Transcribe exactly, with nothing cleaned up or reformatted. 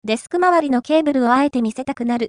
デスク周りのケーブルをあえて見せたくなる